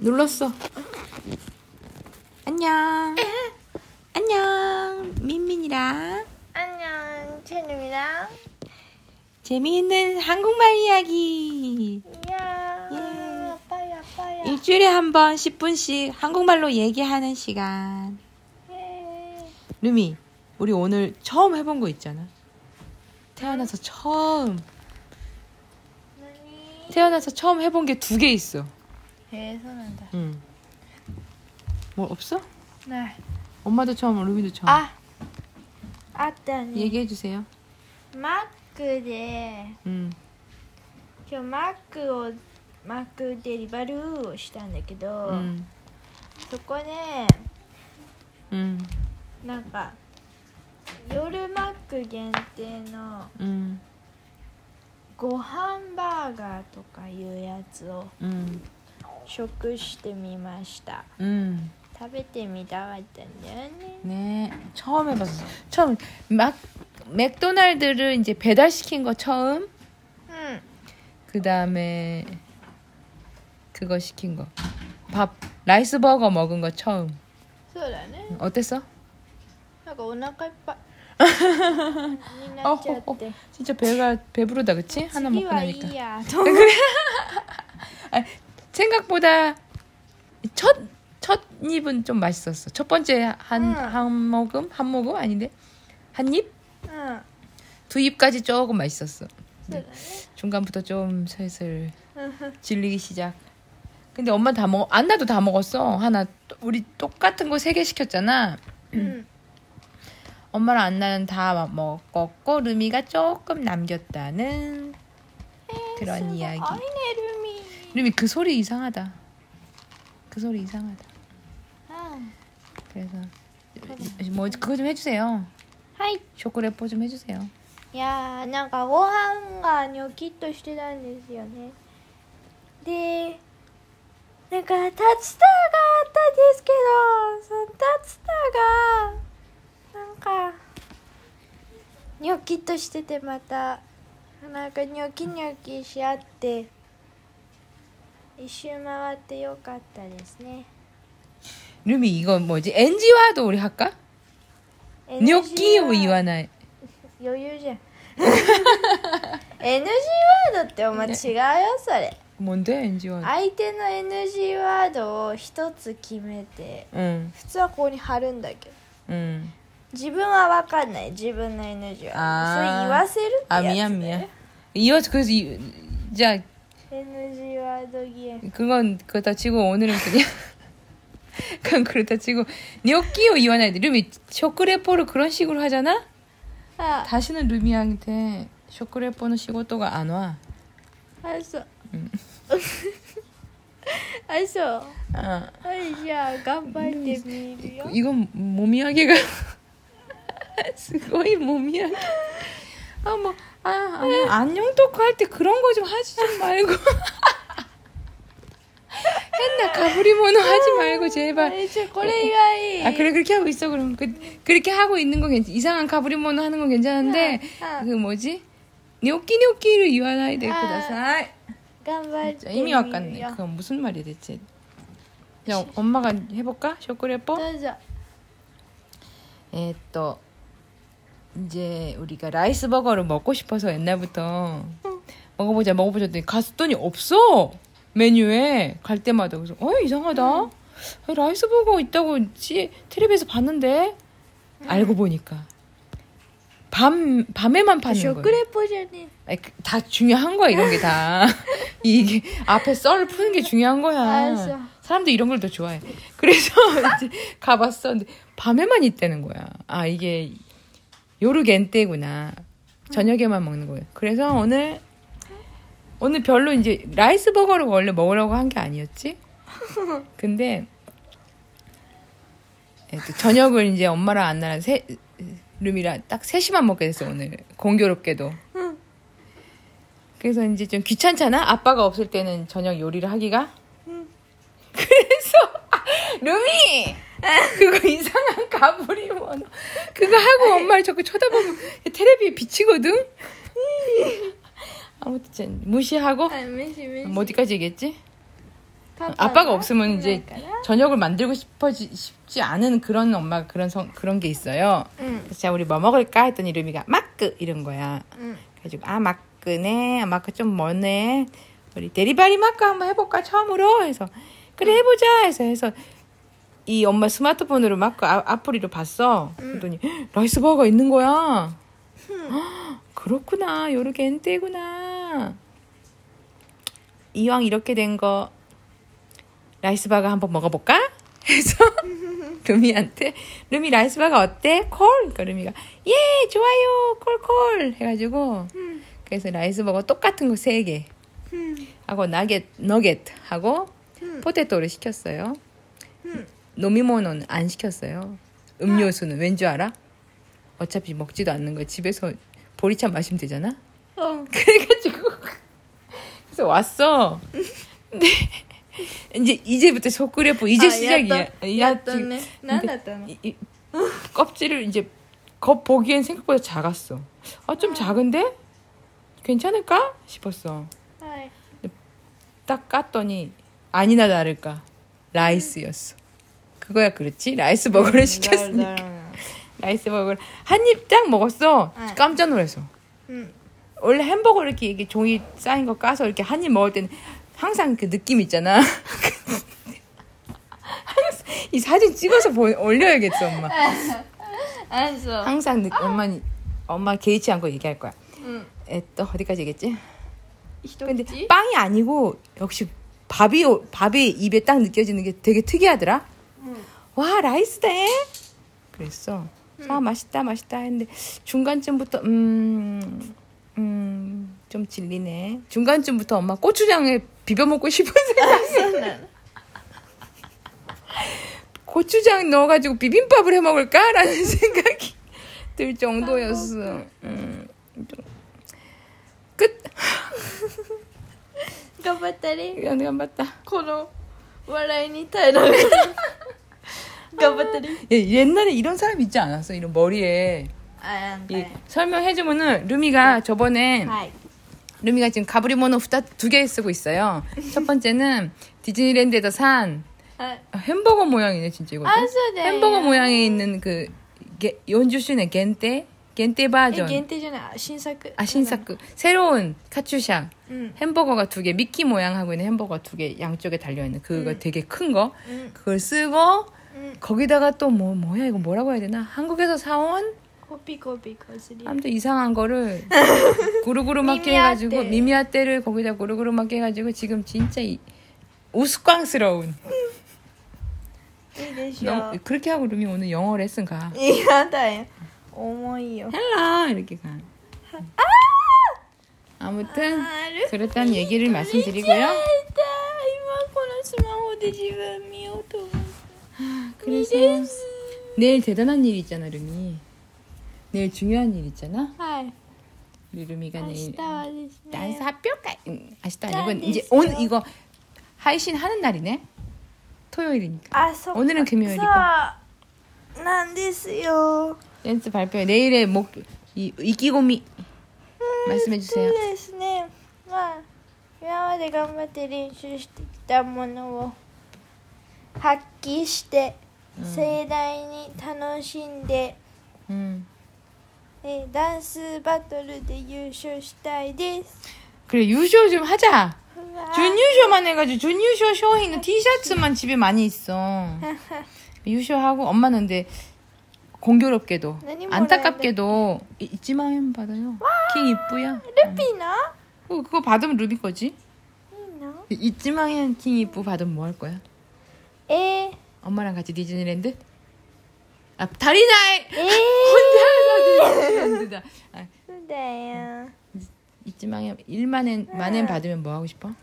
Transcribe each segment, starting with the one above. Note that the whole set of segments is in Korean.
눌렀어. 안녕. 안녕. 민민이랑 안녕, 채님이랑 재미있는 한국말 이야기. 이야, 예. 아빠야. 일주일에 한 번 10분씩 한국말로 얘기하는 시간. 예. 루미, 우리 오늘 처음 해본 거 있잖아. 태어나서 처음 해본 게 2개 있어. 해서난다. 응. 뭐 없어? 네. 엄마도 처음, 루미도 처음. あったね。 얘기해 주세요. マックで、 응. 今日マックデリバルーをしたんだけど、 응. そこで 응. なんか夜マック限定の 응. ご飯バーガーとかいうやつを 응. 食してみました。 응. 食べてみたかったんだよね。 네, 처음 해봤어. 처음 맥도날드를 이제 배달시킨 거 처음. うん。 그 다음에 그거 시킨 거. 밥 라이스 버거 먹은 거 처음. そうだね。 어땠어? なんかお腹いっぱいになっちゃって。 진짜 배가 배부르다, 그치? 하나 次 먹고 はいい 나니까. や。 생각보다 첫 입은 좀 맛있었어. 첫 번째 한 모금 아닌데 한 입? うん。 2 입까지 조금 맛있었어. そうだね。 중간부터 좀 슬슬 질리기 시작. 근데 엄마 다 먹, 안나도 다 먹었어. 하나 우리 똑같은 거 3개 시켰잖아. うん。 엄마랑 안나는 다 먹었고 루미가 조금 남겼다는 그런 이야기. アイネルミ。 루미 그 소리 이상하다. 그 소리 이상하다. うん。 그래서 뭐 그거 좀 해주세요. はい。 쇼크레포 좀 해주세요. いやー、なんかご飯がニョキッとしてたんですよね。で、なんか竜田があったんですけど、その竜田がなんかニョキッとしてて、またなんかニョキニョキしあって一周回ってよかったですね。 루미 이거 뭐지? NG와도 우리 할까? 뇨끼 이와나이. 余裕じゃん。NG ワードってお前違うよそれ。 뭔데 NG와? 相手の NG ワードを一つ決めて 응, 普通はここに貼るんだけど 응. 自分は分かんない自分の NG ワードそれあー言わせるってやつだよ 미안. 그래서 자 NG ワードゲーム 그건 그렇다 치고 오늘은 그냥 그건 그렇다 치고 뇨끼 이와나이. 루미 쇼크레포를 그런 식으로 하잖아? あ 다시는 루미한테 쇼크레포는仕事が 안 와. そう 응. そう 아, はいじゃあ頑張ってみるよ 이건 몸이야기가 스고이 몸이야기. 안녕 토크 할 때 그런 거 좀 하지 좀 말고. 옛날 가브리모노 하지 말고 제발. これがいい 아 그래 그렇게 하고 있어. 그럼 그렇게 하고 있는 건 이상한 가브리모노 하는 건 괜찮은데 그 뭐지? 뇨끼를 이와나이 데 쿠다사이. 頑張ってみ 이미 る 왔겠네. よ 그건 무슨 말이야 대체? 자 엄마가 해볼까? 쇼크레포? どうぞ 이제 우리가 라이스 버거를 먹고 싶어서 옛날부터 먹어보자 했더니 갔더니 없어 메뉴에 갈 때마다. 그래서 이상하다. 라이스 버거 있다고 텔레비에서 봤는데 알고 보니까 밤에만 파는 食 거야. レポじゃね 아니, 다 중요한 거야 이런 게 다. 이게 앞에 썰을 푸는 게 중요한 거야. 알았어. 사람들 이런 걸 더 좋아해. 그래서 이제 가봤어. 근데 밤에만 있다는 거야. 아 이게 요르 겐테구나. 저녁에만 먹는 거예요. 그래서 오늘 별로 이제 라이스 버거를 원래 먹으려고 한 게 아니었지. 근데 저녁을 이제 엄마랑 안나랑 루미랑 딱 3시만 먹게 됐어 오늘. 공교롭게도. 그래서 이제 좀 귀찮잖아. 아빠가 없을 때는 저녁 요리를 하기가. 그래서 루미 그거 이상한 가브리모노 그거 하고 엄마를 자꾸 쳐다보면 텔레비에 비치거든. 아무튼 무시하고 はい、飯。 뭐 어디까지 얘기했지? 아빠가 없으면 이제 저녁을 만들고 싶지 않은 그런 엄마가 그런 게 있어요. 그래서 자, 우리 뭐 먹을까? 했더니 루미가 마크 이런 거야. 그래가지고 마크네. 마크 좀 머네. 우리 데리바리 마크 한번 해볼까? 처음으로 해서 그래 해보자 해서 이 엄마 스마트폰으로 마크 아프리로 봤어. 그랬더니 라이스바가 있는 거야. 그렇구나. 요렇게 엔테구나. 이왕 이렇게 된 거 라이스바가 한번 먹어볼까? 해서 루미한테 루미 라이스바가 어때? 콜? 그러니까 루미가 예 좋아요 콜콜 해가지고 그래서 라이스버거 똑같은 거 3개 하고 너겟 하고 포테토를 시켰어요. 노미모노는 안 시켰어요. 음료수는 왠 줄 알아? 어차피 먹지도 않는 거 집에서 보리차 마시면 되잖아. 그래가지고 그래서 왔어. 근데 이제부터 소쿠레포 이제 시작이야. 야또네. 난다ったの? 껍질을 이제 겉 보기엔 생각보다 작았어. 좀 작은데 괜찮을까 싶었어. 딱 깠더니 아니나 다를까 라이스였어. 그거야 그렇지. 라이스 버거를 시켰으니까. 라이스 버거를 한 입 딱 먹었어. 깜짝 놀랐어. 원래 햄버거 이렇게 종이 쌓인 거 까서 이렇게 한 입 먹을 때는 항상 그 느낌 있잖아. 이 사진 찍어서 올려야겠어, 엄마. 알았어. 항상 엄마 개의치 않고 얘기할 거야. 또 어디까지 얘기했지? 근데 빵이 아니고 역시 밥이 입에 딱 느껴지는 게 되게 특이하더라. 와 라이스네. 그랬어. 맛있다 했는데 중간쯤부터 좀 질리네. 중간쯤부터 엄마 고추장에 비벼 먹고 싶은 생각이 고추장 넣어가지고 비빔밥을 해 먹을까라는 생각이 들 정도였어. 끝. 頑張ったね。 頑張った. この笑いに耐えながら頑張ったね. 옛날에 이런 사람 있지 않았어? 이런 머리에. 설명해주면은 루미가 저번에 루미가 지금 가브리모노 2개 쓰고 있어요. 첫 번째는 디즈니랜드에서 산 햄버거 모양이네 진짜 이것도. 햄버거 모양에 있는 그 연주슈네 겐테 버전. 겐테잖아. 신作. 신作. 새로운 카츄샤. 햄버거가 2개, 미끼 모양하고 있는 햄버거 2개 양쪽에 달려있는 그거 되게 큰 거. 그걸 쓰고 거기다가 또 뭐야 이거 뭐라고 해야 되나? 한국에서 사온 코피 거스리. 아무튼 이상한 거를 구르구르 맞게 해가지고 미미아떼를 거기다 구르구르 맞게 해가지고 지금 진짜 우스꽝스러운. 그렇게 하고 루미 오늘 영어 레슨 가. 이하다요. 어머이요. 헬로 이렇게 가. 아무튼 그랬다는 얘기를 말씀드리고요. 그래서 내일 대단한 일이 있잖아 루미. 내일 중요한 일 있잖아. 우리 루미가 내일 댄스 학교가 아시다 아니고 이제 오늘 이거 하이신 하는 날이네. 토요일이니까. 오늘은 금요일이고. なんですよ. 댄스 발표회 내일의 이기고미 말씀해 주세요. そうですね。今まで頑張って練習してきたものを発揮して盛大に楽しんで、ダンスバトルで優勝したいです. 그래優勝좀 하자. 준優勝만 해가지고 준優勝 쇼잉은 티셔츠만 집에 많이 있어.優勝하고 엄마는 근데 공교롭게도 안타깝게도 있지만 받아요. 킹 이쁘야. 루피나? 그거 받으면 루비 거지. 있지만 킹 이쁘 받으면 뭐 할 거야? 엄마랑 같이 디즈니랜드? 다리나이. 혼자서 디즈니랜드다. 그래요. 있지만 1만엔 받으면 뭐 하고 싶어?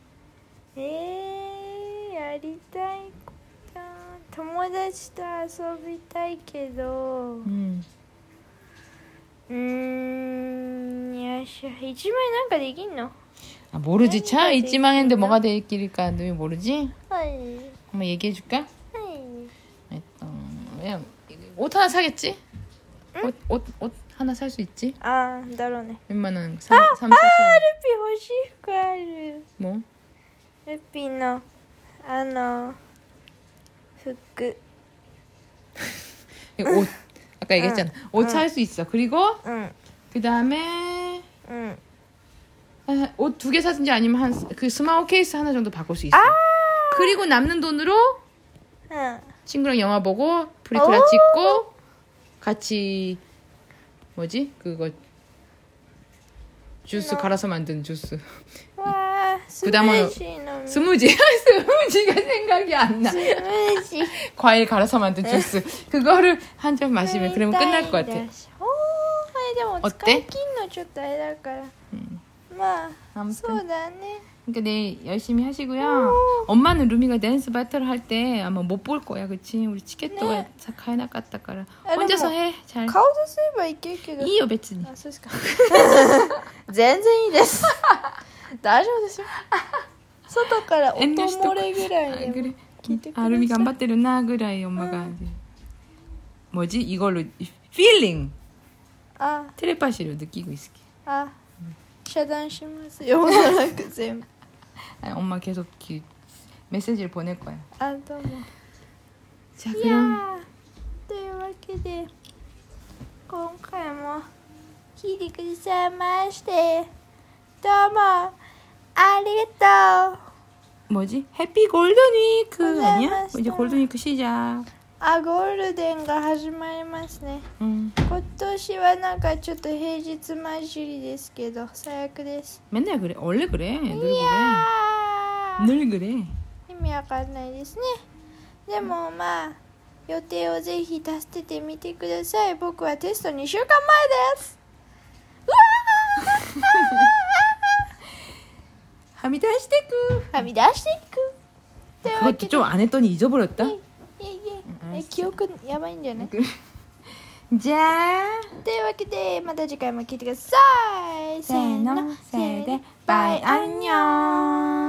やりたいこと友達と遊びたいけどよいしょ1万円なんかできんの? 모르지. 차 있지만 했는데 뭐가 될길일까 너 모르지? 한번 얘기해 줄까? 그냥 옷 하나 사겠지? 응? 옷 하나 살 수 있지? 나로네. 웬만한 ルピ欲しい服ある. 뭐? ルピの服 옷 아까 얘기했잖아. 옷 살 수 있어. 그리고 응 그 다음에 응 옷 2개 사든지 아니면 그 스마트 케이스 하나 정도 바꿀 수 있어. 그리고 남는 돈으로 응 친구랑 영화 보고 프리크라 찍고 같이 뭐지 그거 주스 갈아서 만든 주스. 와 그다음은 스무지 스무지가 생각이 안 나. 스무지 과일 갈아서 만든 주스 그거를 한 잔 마시면 그러면 끝날 것 같아. でも使い切んのちょっとあれだから、まあ 아무튼 そうだね 그러니까 내일 열심히 하시고요. 엄마는 루미가 댄스 배틀 할 때 아마 못 볼 거야, 그치? 우리 티켓도 네. 買えなかったから 아, 혼자서 해. 잘. 顔出せばいけるけどいいよ別に。 あそうですか全然いいです大丈夫ですよ外から音漏れぐらいでも 그래. 聞いてください 아, 루미頑張ってるなぐらい 엄마가 이제 뭐지? 이걸로 feeling あ 텔레파시로 느끼고 있을게. あ遮断しますよおそらく全部 아니, 엄마 계속 메시지를 보낼 거야. あどうも 자, い 그럼 やーというわけで今回も聞いてくださいましてどうもありがとう 뭐지? 해피 골든 위크 아니야? 고생하셨어요. 이제 골든 위크 시작. あゴールデンが始まりますね 응. 今年はなんかちょっと平日混じりですけど最悪です 맨날 그래. 원래 그래. 늘 い 그래. やー 늘 그래. 意味わかんないですねでもまあ予定をぜひ立ててみてください僕はテスト2週間前ですうわーはみ出してく. はみ出していくというわ 그것도 けで 좀 안 했더니 잊어버렸다. いえ記憶やばいんじゃない 자, というわけでまた次回も聞いてくださいせーの 세노 세대 바이 안녕.